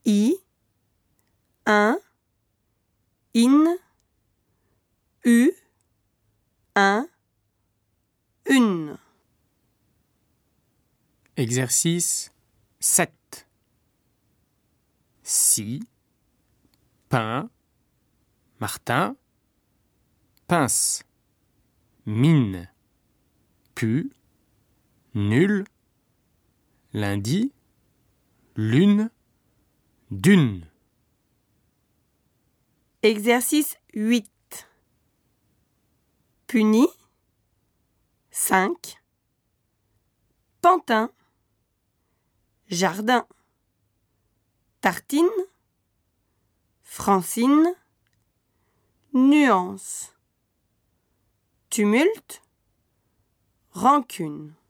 I, un, in, u, un, une. Exercice 7. Si, pain, Martin, pince, mine, pu, nul, lundi, lune, d'une. Exercice 8. Puni, 5. Pantin, jardin. Tartine, Francine, nuance. Tumulte, rancune.